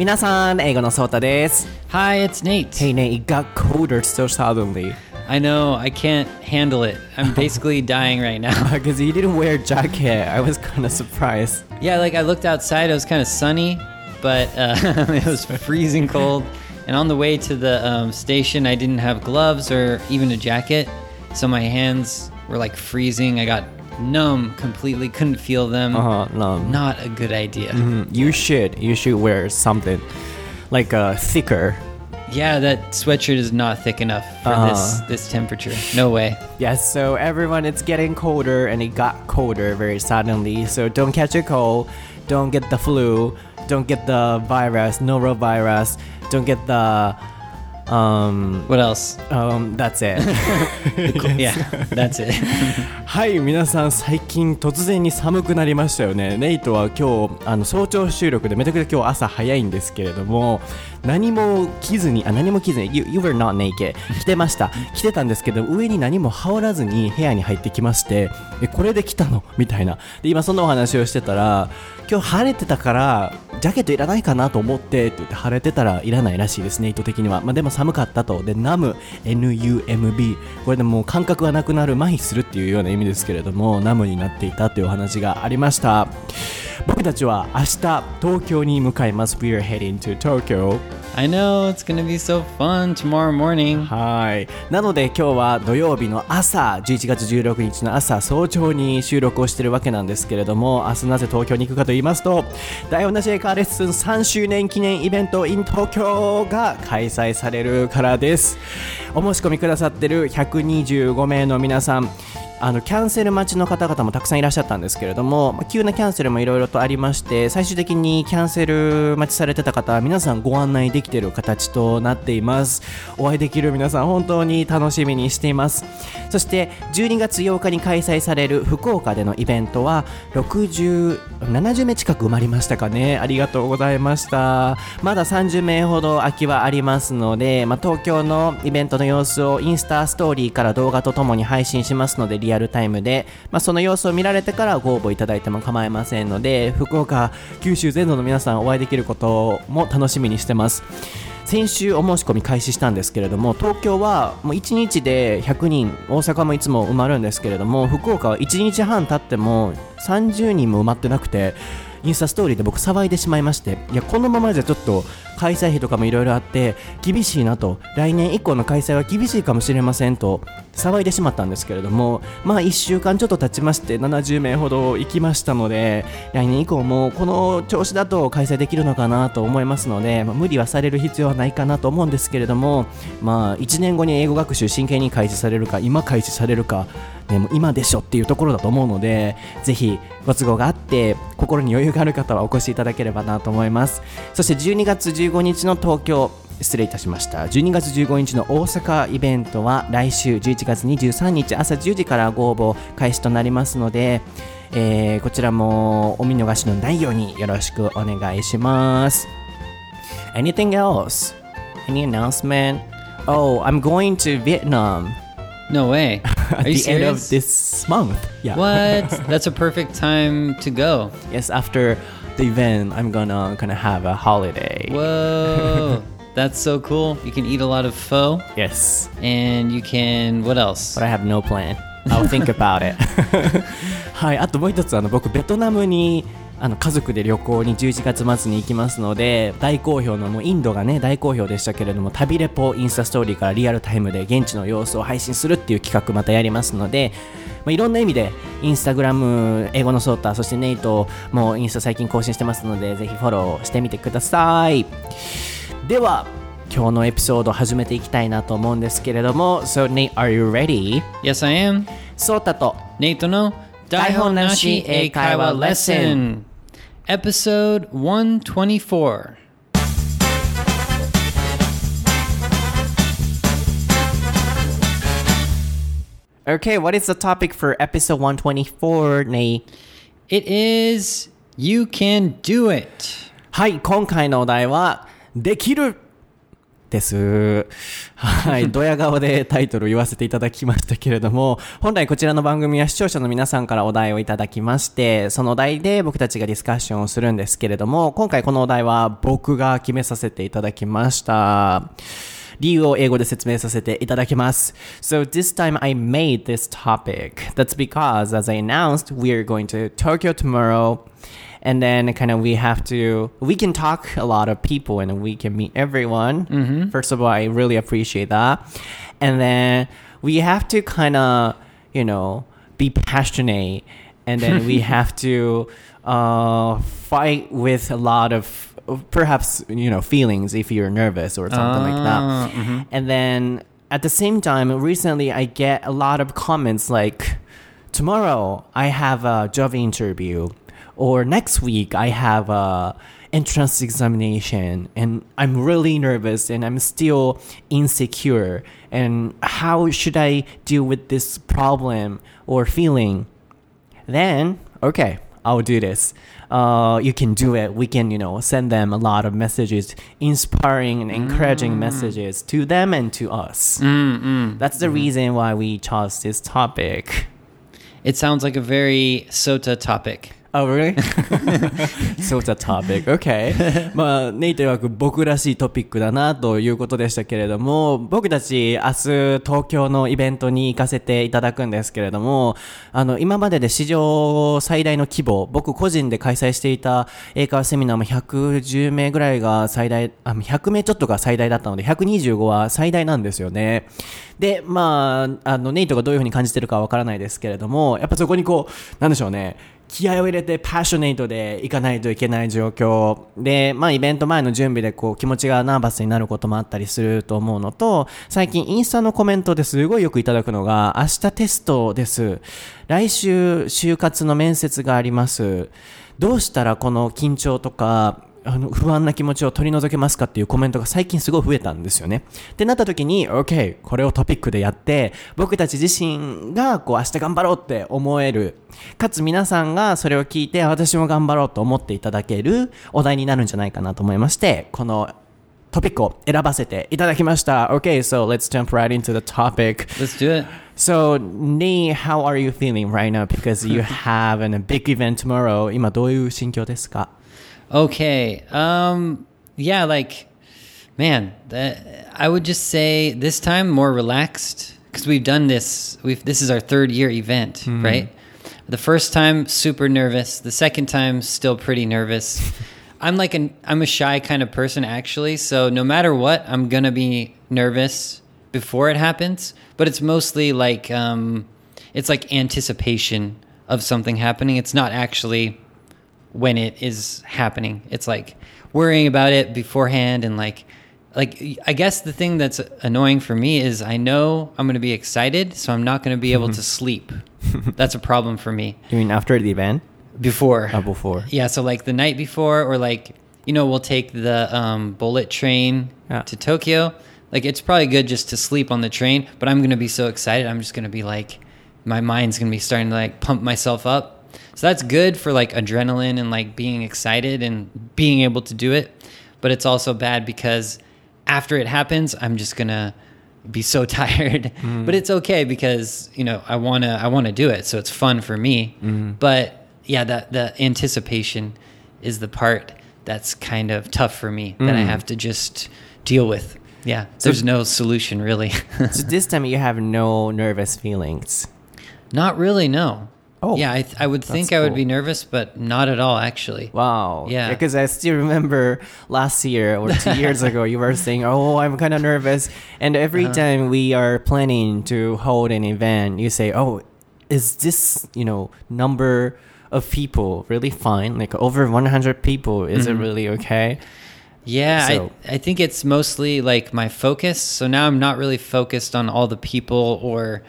皆さん、英語のソータです。 Hi, it's Nate. Hey Nate, it got colder so suddenly. I know, I can't handle it. I'm basically dying right now. Because you didn't wear a jacket. I was kind of surprised. Yeah, like I looked outside, it was kind of sunny, but it was freezing cold. And on the way to the station, I didn't have gloves or even a jacket. So my hands were like freezing. I got numb completely, couldn't feel them. Not a good idea. You should wear something like thicker. Yeah, that sweatshirt is not thick enough for this temperature. No way. Yes, so everyone, it's getting colder and it got colder very suddenly. So don't catch a cold, don't get the flu, don't get the virus, norovirus, don't get the what else? That's it. Yeah, that's it. はい、皆さん最近突然に寒くなりましたよね。ネイトは今日早朝収録でめちゃくちゃ今日朝早いんですけれども、何も着ずに You were not naked 着てました。着てたんですけど上に何も羽織らずに部屋に入ってきまして、これで来たのみたいな。で今そんなお話をしてたら、今日晴れてたからジャケットいらないかなと思ってって言って、晴れてたらいらないらしいですね、意図的には。でも寒かったと。でnumb NUMB、 これでもう感覚がなくなる、麻痺するっていうような意味ですけれども、numbになっていたというお話がありました。僕たちは明日東京に向かいます。 We are heading to Tokyo. I know, it's gonna be so fun tomorrow morning. はい。なので今日は土曜日の朝、11月16日の朝早朝に収録をしているわけなんですけれども、明日なぜ東京に行くかと言いますと、台本なし英会話レッスン3周年記念イベント in 東京が開催されるからです。お申し込みくださっている125名の皆さん、キャンセル待ちの方々もたくさんいらっしゃったんですけれども、急なキャンセルもいろいろとありまして、最終的にキャンセル待ちされてた方は皆さんご案内できている形となっています。お会いできる皆さん本当に楽しみにしています。そして12月8日に開催される福岡でのイベントは70名近く埋まりましたかね。ありがとうございました。まだ30名ほど空きはありますので、東京のイベントの様子をインスタストーリーから動画とともに配信しますので、リアルタイムで、その様子を見られてからご応募いただいても構いませんので、福岡、九州全土の皆さんお会いできることも楽しみにしてます。先週お申し込み開始したんですけれども、東京はもう1日で100人、大阪もいつも埋まるんですけれども、福岡は1日半経っても30人も埋まってなくて、インスタストーリーで僕騒いでしまいまして、いやこのままじゃちょっと開催費とかもいろいろあって厳しいなと、来年以降の開催は厳しいかもしれませんと騒いでしまったんですけれども、1週間ちょっと経ちまして70名ほど行きましたので、来年以降もこの調子だと開催できるのかなと思いますので、無理はされる必要はないかなと思うんですけれども、1年後に英語学習真剣に開始されるか、今開始されるかでも今でしょっていうところだと思うので、ぜひご都合があって心に余裕がある方はお越しいただければなと思います。そして12月15日の東京、失礼いたしました、12月15日の大阪イベントは来週11月23日朝10時からご応募開始となりますので、こちらもお見逃しのないようによろしくお願いします。 Anything else? Any announcement? Oh, I'm going to Vietnam.No way. At the end of this month. Yeah. What? That's a perfect time to go. Yes, after the event, I'm gonna have a holiday. Whoa. That's so cool. You can eat a lot of pho. Yes. And you can, what else? But I have no plan. I'll think about it. はい、あともう一つ僕ベトナムに家族で旅行に11月末に行きますので、大好評のもうインドがね大好評でしたけれども、旅レポインスタストーリーからリアルタイムで現地の様子を配信するっていう企画またやりますので、いろんな意味でインスタグラム英語のソータ、そしてネイトもインスタ最近更新してますので、ぜひフォローしてみてください。では今日のエピソード始めていきたいなと思うんですけれども、 So Nate, are you ready? Yes, I am. ソータとネイトの台本なし英会話レッスン Episode 124. Okay, what is the topic for episode 124, Nate? It is You Can Do It. はい、今回のお題はできるっです。はい、ドヤ顔でタイトルを言わせていただきましたけれども、本来こちらの番組は視聴者の皆さんからお題をいただきまして、そのお題で僕たちがディスカッションをするんですけれども、今回このお題は僕が決めさせていただきました。理由を英語で説明させていただきます。So this time I made this topic. That's because, as I announced, we are going to Tokyo tomorrow. And then kind of we can talk a lot of people and we can meet everyone. Mm-hmm. First of all, I really appreciate that. And then we have to kind of, be passionate. And then we have to fight with a lot of perhaps, feelings if you're nervous or something like that. Mm-hmm. And then at the same time, recently I get a lot of comments like, tomorrow I have a job interview. Or next week, I have a entrance examination and I'm really nervous and I'm still insecure. And how should I deal with this problem or feeling? Then, okay, I'll do this. You can do it. We can, send them a lot of messages, inspiring and encouraging messages to them and to us. That's the reason why we chose this topic. It sounds like a very Sota topic.Oh, really? So it's a topic. Okay. まあ、ネイト曰く僕らしいトピックだなということでしたけれども、僕たち明日東京のイベントに行かせていただくんですけれども、今までで史上最大の規模、僕個人で開催していた英会話セミナーも110名ぐらいが最大、100名ちょっとが最大だったので、125は最大なんですよね。で、まあ、ネイトがどういうふうに感じてるかはわからないですけれども、やっぱそこになんでしょうね。気合を入れてパッショネイトで行かないといけない状況で、まあイベント前の準備で気持ちがナーバスになることもあったりすると思うのと、最近インスタのコメントですごいよくいただくのが、明日テストです。来週就活の面接があります。どうしたらこの緊張とか不安な気持ちを取り除けますかっていうコメントが最近すごい増えたんですよね。ってなった時に OK これをトピックでやって僕たち自身が明日頑張ろうって思えるかつ皆さんがそれを聞いて私も頑張ろうと思っていただけるお題になるんじゃないかなと思いましてこのトピックを選ばせていただきました。 OK, so let's jump right into the topic. Let's do it. So, Nei, how are you feeling right now? Because you have a big event tomorrow. 今どういう心境ですか Okay. Yeah, I would just say this time more relaxed because we've done this. This is our third year event, right? The first time, super nervous. The second time, still pretty nervous. I'm a shy kind of person actually. So no matter what, I'm going to be nervous before it happens, but it's mostly it's like anticipation of something happening. It's not actually when it is happening. It's like worrying about it beforehand and like I guess the thing that's annoying for me is I know I'm going to be excited, so I'm not going to be able to sleep. That's a problem for me. You mean after the event? Before. Before. Yeah, so the night before or we'll take the bullet train to Tokyo. It's probably good just to sleep on the train, but I'm going to be so excited. I'm just going to be my mind's going to be starting to pump myself up. So that's good for adrenaline and being excited and being able to do it. But it's also bad because after it happens, I'm just going to be so tired. But it's okay because, I want to do it. So it's fun for me. But yeah, the anticipation is the part that's kind of tough for me that I have to just deal with. Yeah, there's no solution really. So this time you have no nervous feelings? Not really, no. Oh, yeah, I would think I would be nervous, but not at all, actually. Wow. Yeah. Because I still remember last year or 2 years ago, you were saying, oh, I'm kind of nervous. And every time we are planning to hold an event, you say, oh, is this, number of people really fine? Over 100 people, is it really okay? Yeah, so. I think it's mostly my focus. So now I'm not really focused on all the people or...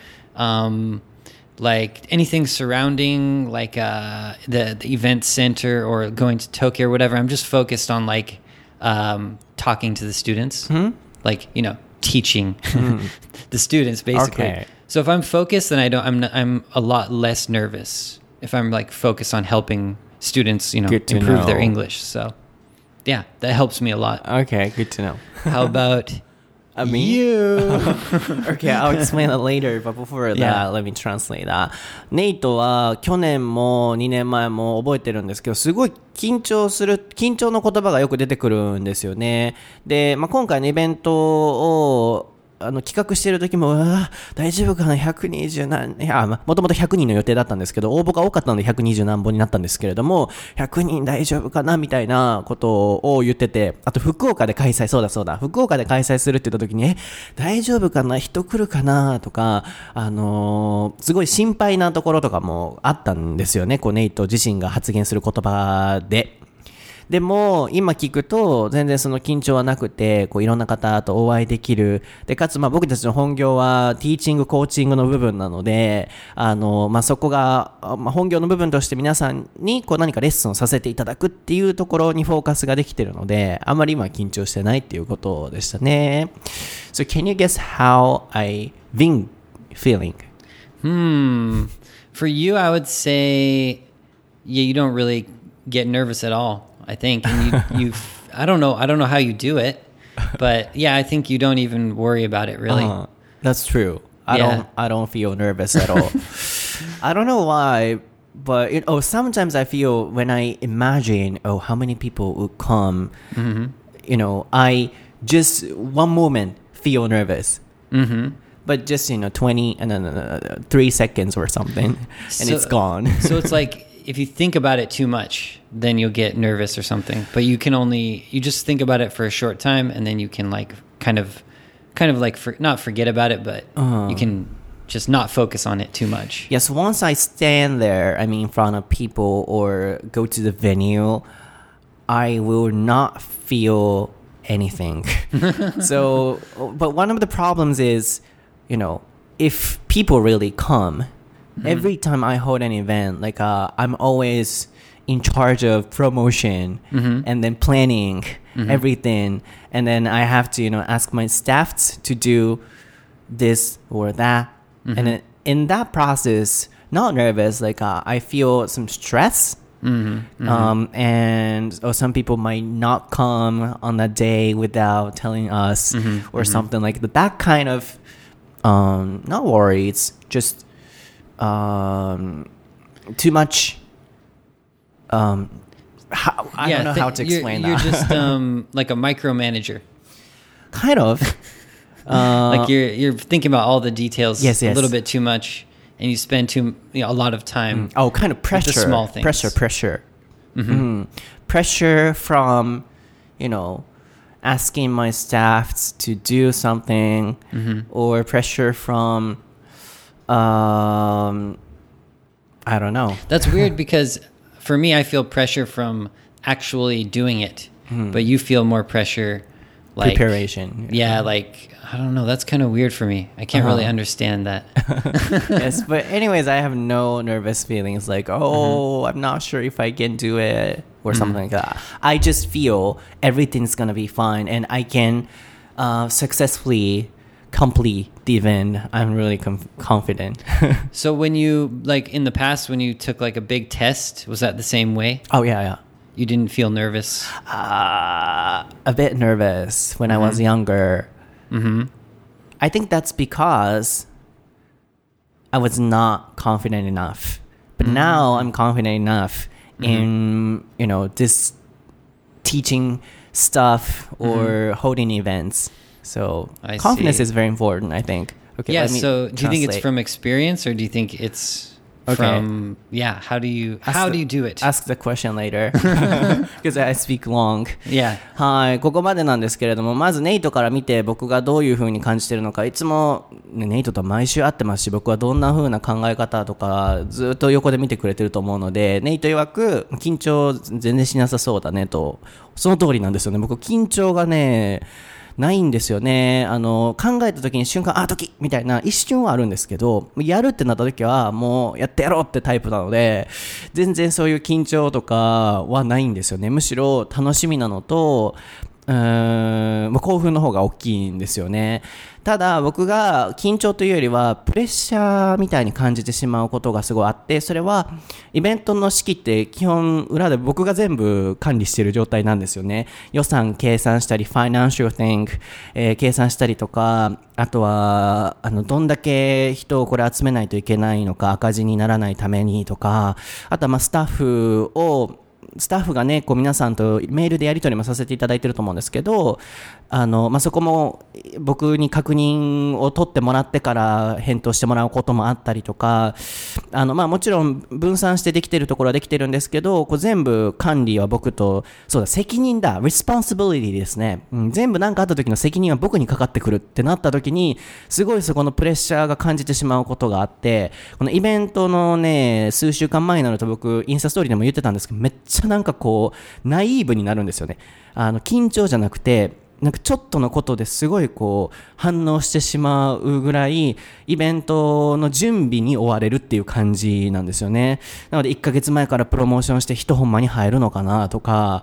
anything surrounding the event center or going to Tokyo or whatever. I'm just focused on talking to the students, teaching the students basically. Okay. So if I'm focused, then I'm a lot less nervous if I'm focused on helping students, improve their English. So yeah, that helps me a lot. Okay, good to know. How about Me? You. Okay, I'll explain it later, but before that, Yeah. let me translate that. ネイトは去年も2年前も覚えてるんですけど、すごい緊張の言葉がよく出てくるんですよね。で、今回のイベントを企画している時も、大丈夫かな、120何、もともと100人の予定だったんですけど、応募が多かったので120何本になったんですけれども、100人大丈夫かなみたいなことを言ってて、あと福岡で開催、そうだ、福岡で開催するって言った時に、大丈夫かな、人来るかなとか、すごい心配なところとかもあったんですよね、ネイト自身が発言する言葉で。でも今聞くと全然その緊張はなくて、いろんな方とお会いできる。でかつ僕たちの本業はティーチングコーチングの部分なので、そこが、本業の部分として皆さんに何かレッスンをさせていただくっていうところにフォーカスができているので、あまり今緊張してないっていうことでしたね。So can you guess how I've been feeling? For you, I would say, you don't really get nervous at all.I think, and you I don't know how you do it, but yeah, I think you don't even worry about it really. That's true. I don't feel nervous at all. I don't know why, but sometimes I feel when I imagine how many people would come, I just one moment feel nervous. But just 20 and then 3 seconds or something, and it's gone. So it's like if you think about it too much, then you'll get nervous or something. But you just think about it for a short time, and then you can kind of not forget about it, but you can just not focus on it too much. Yes, once I stand there, in front of people or go to the venue, I will not feel anything. So, but one of the problems is, if people really come, every time I hold an event, I'm always in charge of promotion and then planning everything, and then I have to ask my staff to do this or that, and then in that process, not nervous, I feel some stress. And some people might not come on that day without telling us or something like that. That kind of not worry, it's just too much. I don't know how to explain that. You're just like a micromanager. Kind of. Like you're thinking about all the details yes. a little bit too much, and you spend a lot of time. Kind of pressure. With the small things. Pressure. Pressure from, asking my staff to do something, or pressure from, I don't know. That's weird because for me, I feel pressure from actually doing it, but you feel more pressure like preparation. Yeah, I don't know. That's kind of weird for me. I can't really understand that. Yes, but anyways, I have no nervous feelings I'm not sure if I can do it or something like that. I just feel everything's gonna be fine and I can successfully complete the event. I'm really confident. So when you in the past when you took a big test, was that the same way? Oh yeah. You didn't feel nervous? A bit nervous when I was younger. I think that's because I was not confident enough. But now I'm confident enough in, this teaching stuff or holding events. So I confidence see. is very important, I think. Okay, Yeah, let me so do you think it's translate. from experience or do you think it's from, how do you do it? Ask the question later because I speak long. Yeah. はい、ここまでなんですけれども、まずネイトから見て僕がどういう風に感じてるのか、いつも、ネイトとは毎週会ってますし、僕はどんな風な考え方とかずっと横で見てくれてると思うので、ネイト曰く緊張全然しなさそうだねと、その通りなんですよね。僕緊張がねないんですよね。考えた時に瞬間時みたいな一瞬はあるんですけど、やるってなった時はもうやってやろうってタイプなので、全然そういう緊張とかはないんですよね。むしろ楽しみなのと、 興奮の方が大きいんですよね。ただ僕が緊張というよりはプレッシャーみたいに感じてしまうことがすごいあって、それはイベントの式って基本裏で僕が全部管理している状態なんですよね。予算計算したり、financial thing、計算したりとか、あとはどんだけ人をこれ集めないといけないのか、赤字にならないためにとか、あとはスタッフがね、こう皆さんとメールでやり取りもさせていただいてると思うんですけど、そこも僕に確認を取ってもらってから返答してもらうこともあったりとか、もちろん分散してできてるところはできてるんですけど、こう全部管理は僕と、そうだ、責任だ、responsibility ですね。全部何かあった時の責任は僕にかかってくるってなった時に、すごいそこのプレッシャーが感じてしまうことがあって、このイベントのね、数週間前になると僕、インスタストーリーでも言ってたんですけど、めっちゃなんかこう、ナイーブになるんですよね。緊張じゃなくて、なんかちょっとのことですごいこう反応してしまうぐらいイベントの準備に追われるっていう感じなんですよね。なので1ヶ月前からプロモーションして人ほんまに入るのかなとか、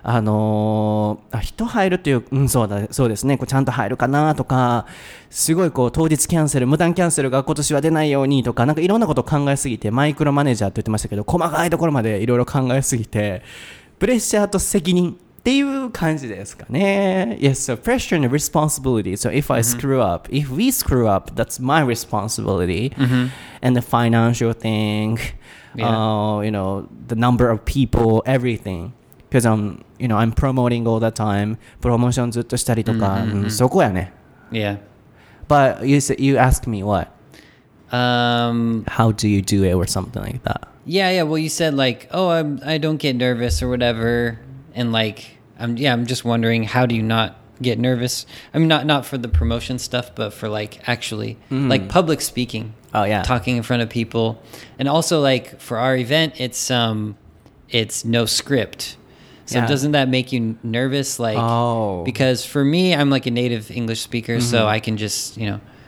人入るっていう、そうですね、こうちゃんと入るかなとか、すごいこう当日キャンセル、無断キャンセルが今年は出ないようにとか、なんかいろんなことを考えすぎて、マイクロマネージャーって言ってましたけど、細かいところまでいろいろ考えすぎて、プレッシャーと責任っていう感じですかね。Yes, so pressure and responsibility. So if I screw up, if we screw up, that's my responsibility. And the financial thing, the number of people, everything. Because I'm promoting all the time. プロモーションずっとしたりとか、そこやね。 Yeah. But you asked me what? How do you do it or something like that? Yeah. Well, you said like, oh, I don't get nervous or whatever. And like, I'm just wondering, how do you not get nervous? I mean, not for the promotion stuff, but for like actually like public speaking. Oh yeah, talking in front of people, and also like for our event, it's no script. So doesn't that make you nervous? Like, because for me, I'm like a native English speaker, so I can just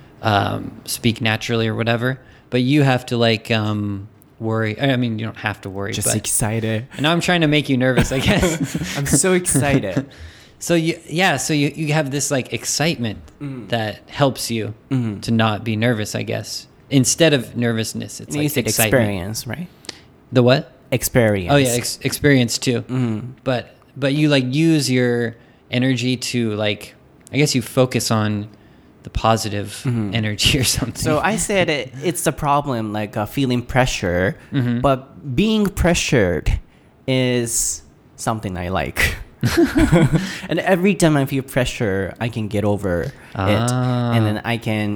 speak naturally or whatever. But you have to like worry. I mean, you don't have to worry. Just excited. And now I'm trying to make you nervous, I guess. I'm so excited. So you have this like excitement that helps you to not be nervous, I guess. Instead of nervousness, it's like excitement. Experience, right? The what? Experience. Oh yeah, experience too. But you like use your energy to like, I guess you focus on the positive energy or something. So I said it's a problem, like feeling pressure, but being pressured is something I like. And every time I feel pressure, I can get over it, and then I can,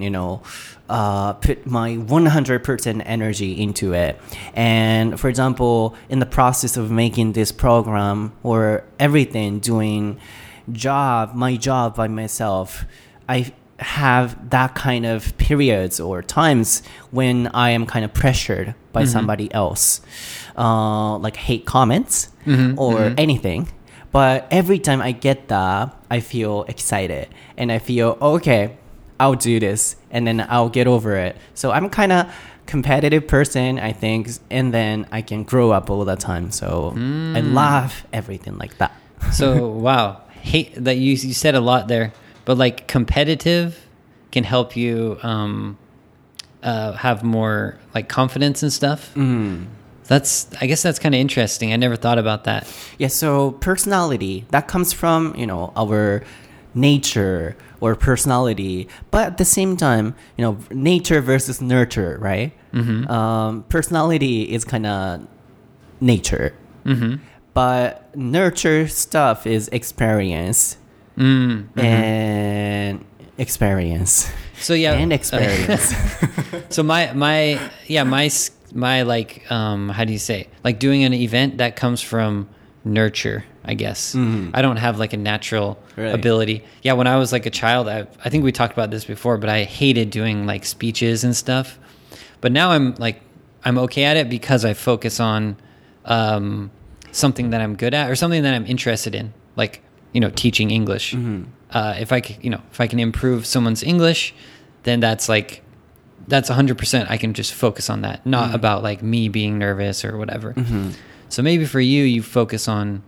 put my 100% energy into it. And for example, in the process of making this program or everything, doing my job by myself, I have that kind of periods or times when I am kind of pressured by somebody else, like hate comments or anything. But every time I get that, I feel excited and I feel, okay, I'll do this and then I'll get over it. So I'm kind of competitive person, I think, and then I can grow up all the time. So I love everything like that. So, wow. Hate that you said a lot there, but like competitive can help you have more like confidence and stuff. I guess that's kind of interesting. I never thought about that. Yeah, so personality, that comes from, our nature or personality. But at the same time, nature versus nurture, right? Personality is kind of nature. But nurture stuff is experience. And experience. So yeah. And experience. So my like how do you say, like doing an event that comes from nurture, I guess. I don't have like a natural ability. Yeah, when I was like a child, I think we talked about this before, but I hated doing like speeches and stuff. But now I'm okay at it because I focus on something that I'm good at or something that I'm interested in, like teaching English. If I can improve someone's English, then that's 100%. I can just focus on that, not about like me being nervous or whatever. So maybe for you focus on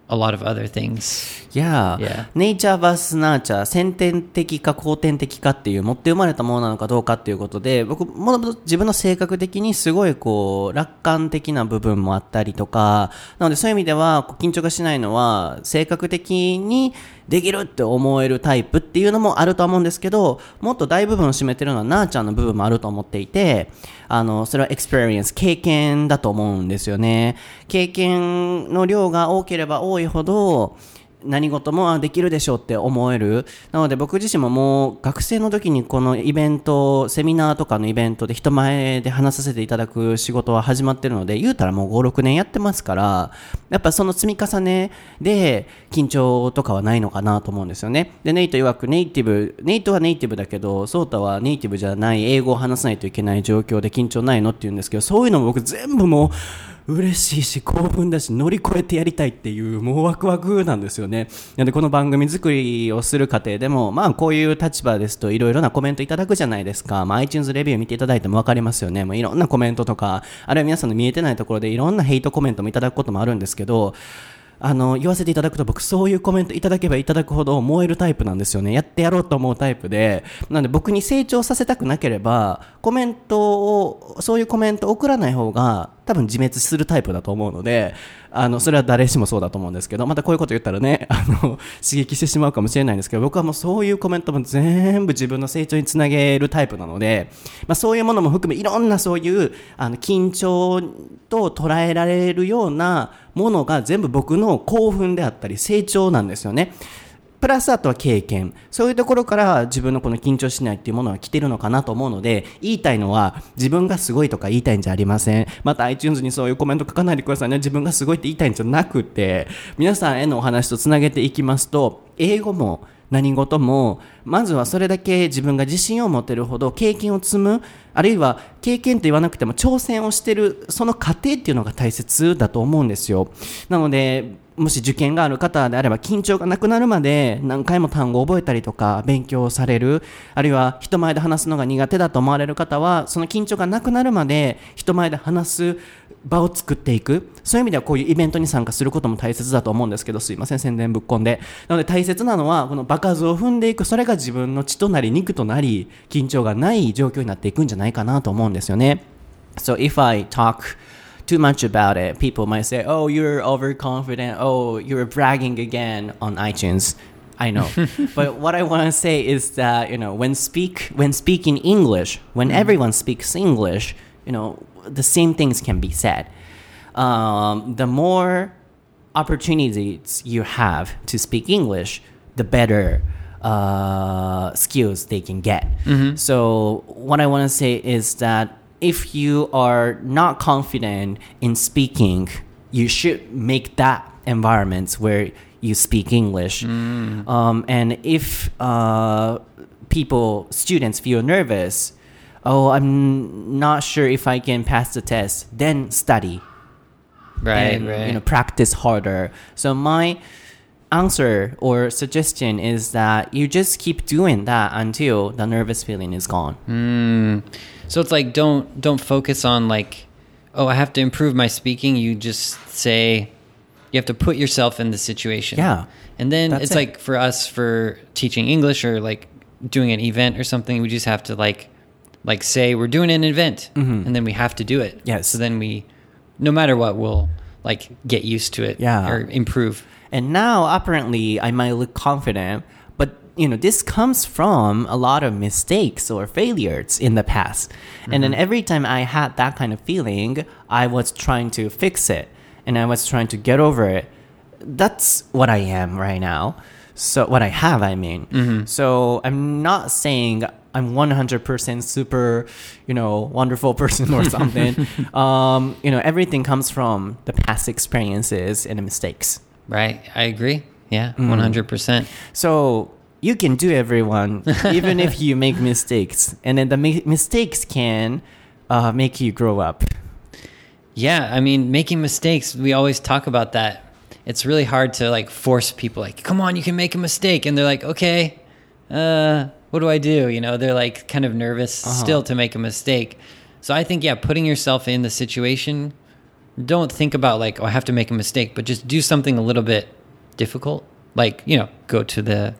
a lot of other things. Yeah. Nature vs. Nurture 先天的か後天的かっていう持って生まれたものなのかどうかっていうことで、僕もともと自分の性格的にすごいこう楽観的な部分もあったりとか、なのでそういう意味では緊張がしないのは性格的にできるって思えるタイプっていうのもあると思うんですけど、もっと大部分を占めてるのはナーチャーの部分もあると思っていて、それは experience 経験だと思うんですよね。経験の量が多ければ多いほど何事もできるでしょうって思える。なので僕自身ももう学生の時にこのイベント、セミナーとかのイベントで人前で話させていただく仕事は始まってるので、言うたらもう5、6年やってますから、やっぱその積み重ねで緊張とかはないのかなと思うんですよね。で、ネイト曰くネイトはネイティブだけど、ソータはネイティブじゃない英語を話さないといけない状況で緊張ないのって言うんですけど、そういうのも僕全部もう嬉しいし興奮だし乗り越えてやりたいっていうもうワクワクなんですよね。なのでこの番組作りをする過程でもこういう立場ですといろいろなコメントいただくじゃないですか。iTunes レビュー見ていただいても分かりますよね。もういろんなコメントとか、あるいは皆さんの見えてないところでいろんなヘイトコメントもいただくこともあるんですけど、言わせていただくと僕そういうコメントいただけばいただくほど燃えるタイプなんですよね。やってやろうと思うタイプで、なので僕に成長させたくなければそういうコメントを送らない方が多分自滅するタイプだと思うので、それは誰しもそうだと思うんですけど、またこういうこと言ったらね刺激してしまうかもしれないんですけど、僕はもうそういうコメントも全部自分の成長につなげるタイプなので、そういうものも含めいろんなそういう緊張と捉えられるようなものが全部僕の興奮であったり成長なんですよね。プラスあとは経験、そういうところから自分のこの緊張しないっていうものは来てるのかなと思うので、言いたいのは自分がすごいとか言いたいんじゃありません。また iTunes にそういうコメント書かないでくださいね。自分がすごいって言いたいんじゃなくて、皆さんへのお話とつなげていきますと、英語も何事もまずはそれだけ自分が自信を持てるほど経験を積む、あるいは経験と言わなくても挑戦をしているその過程っていうのが大切だと思うんですよ。なのでもし受験がある方であれば緊張がなくなるまで何回も単語を覚えたりとか勉強される、あるいは人前で話すのが苦手だと思われる方はその緊張がなくなるまで人前で話す場を作っていく、そういう意味ではこういうイベントに参加することも大切だと思うんですけど、すいません宣伝ぶっこんで。なので大切なのはこの場数を踏んでいく、それが自分の血となり肉となり緊張がない状況になっていくんじゃないかなと思うんですよね。So if I talk too much about it, people might say, oh, you're overconfident, oh, you're bragging again on iTunes. I know. But what I want to say is that, when speaking English, when everyone speaks English, the same things can be said. The more opportunities you have to speak English, the better skills they can get. So what I want to say is that if you are not confident in speaking, you should make that environment where you speak English. And if students feel nervous, oh, I'm not sure if I can pass the test, then study. Right. Practice harder. So my answer or suggestion is that you just keep doing that until the nervous feeling is gone. So it's like don't focus on like, oh, I have to improve my speaking. You just say you have to put yourself in the situation. Yeah. And then it's like for us for teaching English or like doing an event or something, we just have to like say we're doing an event and then we have to do it. Yes. So then we, no matter what, we'll like get used to it or improve. And now apparently I might look confident, but this comes from a lot of mistakes or failures in the past. And then every time I had that kind of feeling, I was trying to fix it and I was trying to get over it. That's what I am right now. So what I have, I mean. So I'm not saying I'm 100% super, wonderful person or something. Everything comes from the past experiences and the mistakes. Right. I agree. Yeah, 100%. So you can do everyone, even if you make mistakes. And then the mistakes can make you grow up. Yeah, I mean, making mistakes, we always talk about that. It's really hard to like force people like, come on, you can make a mistake. And they're like, okay, what do I do? They're like kind of nervous still to make a mistake. So I think, putting yourself in the situation, don't think about like, oh, I have to make a mistake, but just do something a little bit difficult, like, go to the,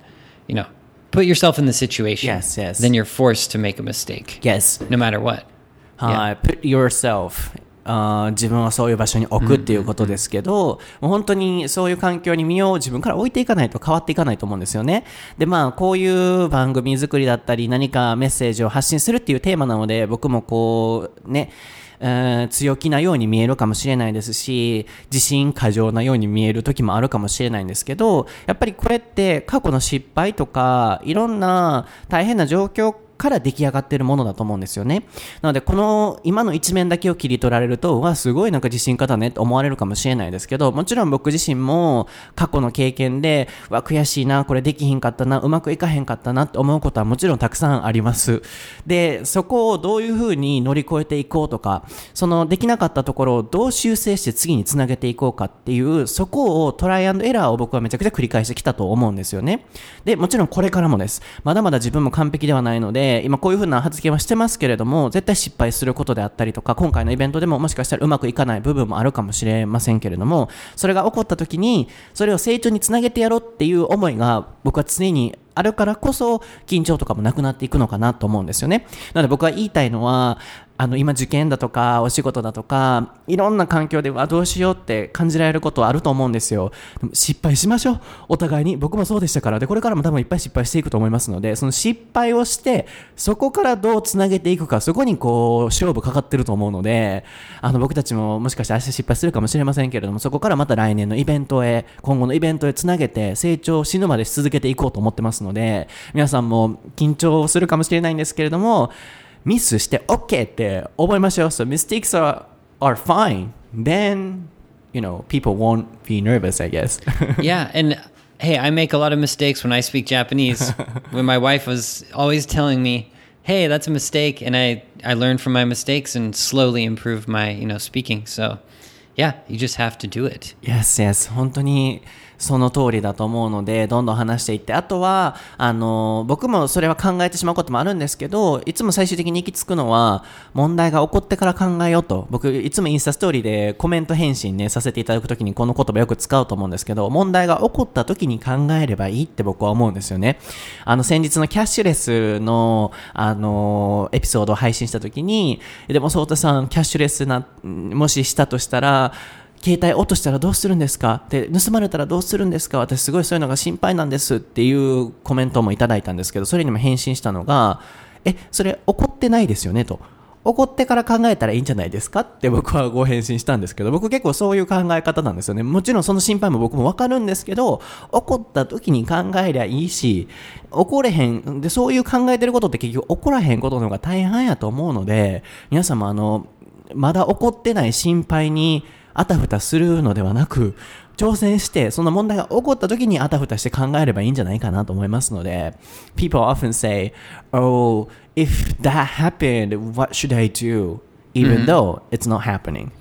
put yourself in the situation. Yes, yes. Then you're forced to make a mistake. Yes. No matter what. はい、put yourself 自分をそういう場所に置くっていうことですけど、もう本当にそういう環境に身を自分から置いていかないと変わっていかないと思うんですよね。で、こういう番組作りだったり何かメッセージを発信するっていうテーマなので、僕もこうね、強気なように見えるかもしれないですし、自信過剰なように見える時もあるかもしれないんですけど、やっぱりこれって過去の失敗とかいろんな大変な状況から出来上がっているものだと思うんですよね。なのでこの今の一面だけを切り取られると、すごいなんか自信家だねって思われるかもしれないですけど、もちろん僕自身も過去の経験で悔しいな、これできひんかったな、うまくいかへんかったなって思うことはもちろんたくさんあります。で、そこをどういうふうに乗り越えていこうとか、そのできなかったところをどう修正して次につなげていこうかっていう、そこをトライアンドエラーを僕はめちゃくちゃ繰り返してきたと思うんですよね。で、もちろんこれからもです。まだまだ自分も完璧ではないので、今こういう風な発言はしてますけれども、絶対失敗することであったりとか、今回のイベントでももしかしたらうまくいかない部分もあるかもしれませんけれども、それが起こった時にそれを成長につなげてやろうっていう思いが僕は常にあるからこそ、緊張とかもなくなっていくのかなと思うんですよね。なので僕が言いたいのは、今受験だとかお仕事だとかいろんな環境でどうしようって感じられることはあると思うんですよ。失敗しましょう、お互いに。僕もそうでしたから。で、これからも多分いっぱい失敗していくと思いますので、その失敗をしてそこからどうつなげていくか、そこにこう勝負かかってると思うので、僕たちももしかして明日失敗するかもしれませんけれども、そこからまた来年のイベントへ、今後のイベントへつなげて成長死ぬまでし続けていこうと思ってますので、皆さんも緊張するかもしれないんですけれども、ミスして OK って覚えましょう。So mistakes are fine. Then, people won't be nervous, I guess. Yeah, and hey, I make a lot of mistakes when I speak Japanese. When my wife was always telling me, hey, that's a mistake, and I learned from my mistakes and slowly improved my, speaking. So, yeah, you just have to do it. Yes, yes. 本当にその通りだと思うので、どんどん話していって、あとは僕もそれは考えてしまうこともあるんですけど、いつも最終的に行き着くのは問題が起こってから考えようと。僕いつもインスタストーリーでコメント返信ねさせていただくときにこの言葉よく使うと思うんですけど、問題が起こったときに考えればいいって僕は思うんですよね。先日のキャッシュレスのエピソードを配信したときに、でもソータさんキャッシュレスもししたとしたら携帯落としたらどうするんですか、で盗まれたらどうするんですか、私すごいそういうのが心配なんですっていうコメントもいただいたんですけど、それにも返信したのが、それ怒ってないですよねと、怒ってから考えたらいいんじゃないですかって僕はご返信したんですけど、僕結構そういう考え方なんですよね。もちろんその心配も僕もわかるんですけど、怒った時に考えりゃいいし、怒れへんで、そういう考えてることって結局怒らへんことの方が大半やと思うので、皆さんもまだ怒ってない心配にあたふたするのではなく、挑戦してその問題が起こった時にあたふたして考えればいいんじゃないかなと思いますので、 People often say, oh, if that happened, what should I do? Even though it's not happening.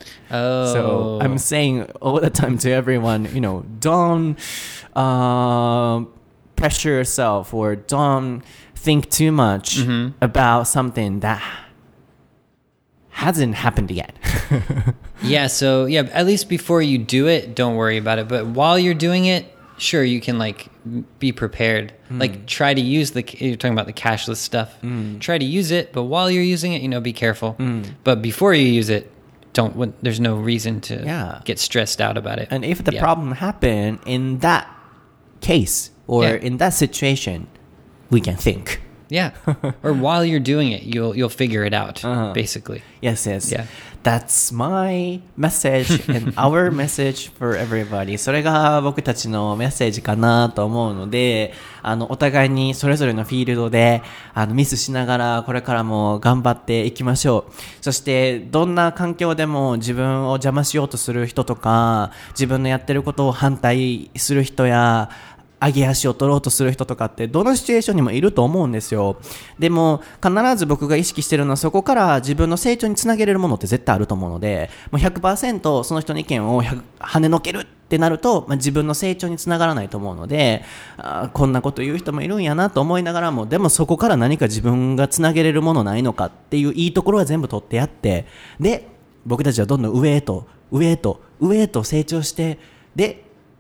So I'm saying all the time to everyone, don't pressure yourself or don't think too much about something that hasn't happened yet. Yeah, so at least before you do it, don't worry about it. But while you're doing it, sure, you can be prepared. Try to use you're talking about the cashless stuff. Try to use it, but while you're using it, be careful. But before you use it, there's no reason to get stressed out about it. And if the problem happened in that case or in that situation, we can think. Yeah, or while you're doing it, you'll figure it out, basically. Yes, yes. Yeah. That's my message and our message for everybody. それが僕たちのメッセージかなと思うので、お互いにそれぞれのフィールドでミスしながらこれからも頑張っていきましょう。そしてどんな環境でも自分を邪魔しようとする人とか、自分のやってることを反対する人や上げ足を取ろうとする人とかってどのシチュエーションにもいると思うんですよ。でも必ず僕が意識してるのは、そこから自分の成長につなげれるものって絶対あると思うので、もう 100% その人の意見を跳ねのけるってなると、自分の成長につながらないと思うので、こんなこと言う人もいるんやなと思いながらも、でもそこから何か自分がつなげれるものないのかっていういいところは全部取ってやって、で僕たちはどんどん上へと成長して、で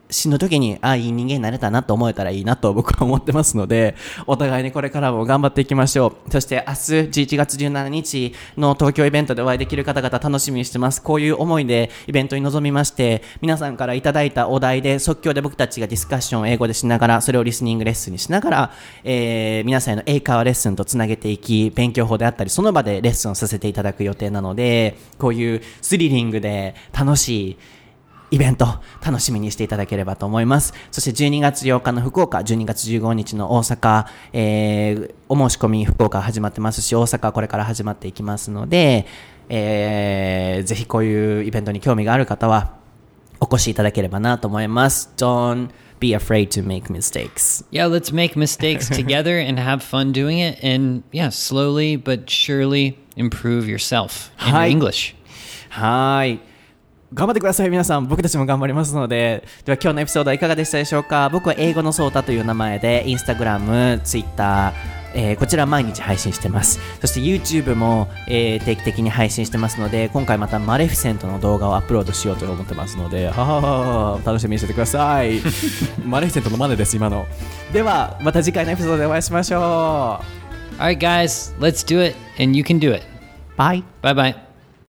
死ぬ時にいい人間になれたなと思えたらいいなと僕は思ってますので、お互いにこれからも頑張っていきましょう。そして明日11月17日の東京イベントでお会いできる方々楽しみにしてます。こういう思いでイベントに臨みまして、皆さんからいただいたお題で即興で僕たちがディスカッションを英語でしながら、それをリスニングレッスンにしながら、皆さんへの英会話レッスンとつなげていき、勉強法であったりその場でレッスンをさせていただく予定なので、こういうスリリングで楽しいイベント楽しみにしていただければと思います。そして12月8日の福岡、12月15日の大阪、お申し込み福岡始まってますし、大阪これから始まっていきますので、ぜひこういうイベントに興味がある方はお越しいただければなと思います。 Don't be afraid to make mistakes. Yeah, let's make mistakes together and have fun doing it, and yeah, slowly but surely improve yourself in your English. はい、頑張ってください皆さん。僕たちも頑張りますので。では今日のエピソードはいかがでしたでしょうか。僕は英語のソータという名前でインスタグラム、ツイッター、こちら毎日配信してます。そして YouTube も、定期的に配信してますので、今回またマレフィセントの動画をアップロードしようと思ってますので、楽しみにしててください。マレフィセントのマネです今の。ではまた次回のエピソードでお会いしましょう。 Alright guys, let's do it and you can do it. Bye. Bye bye.